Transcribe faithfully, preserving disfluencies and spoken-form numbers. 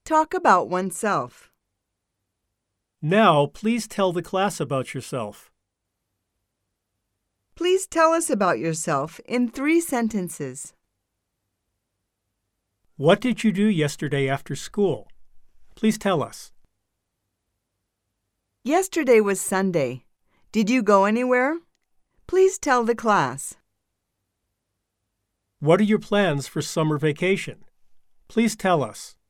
Talk about oneself. Now, please tell the class about yourself. Please tell us about yourself in three sentences. What did you do yesterday after school? Please tell us. Yesterday was Sunday. Did you go anywhere? Please tell the class. What are your plans for summer vacation? Please tell us.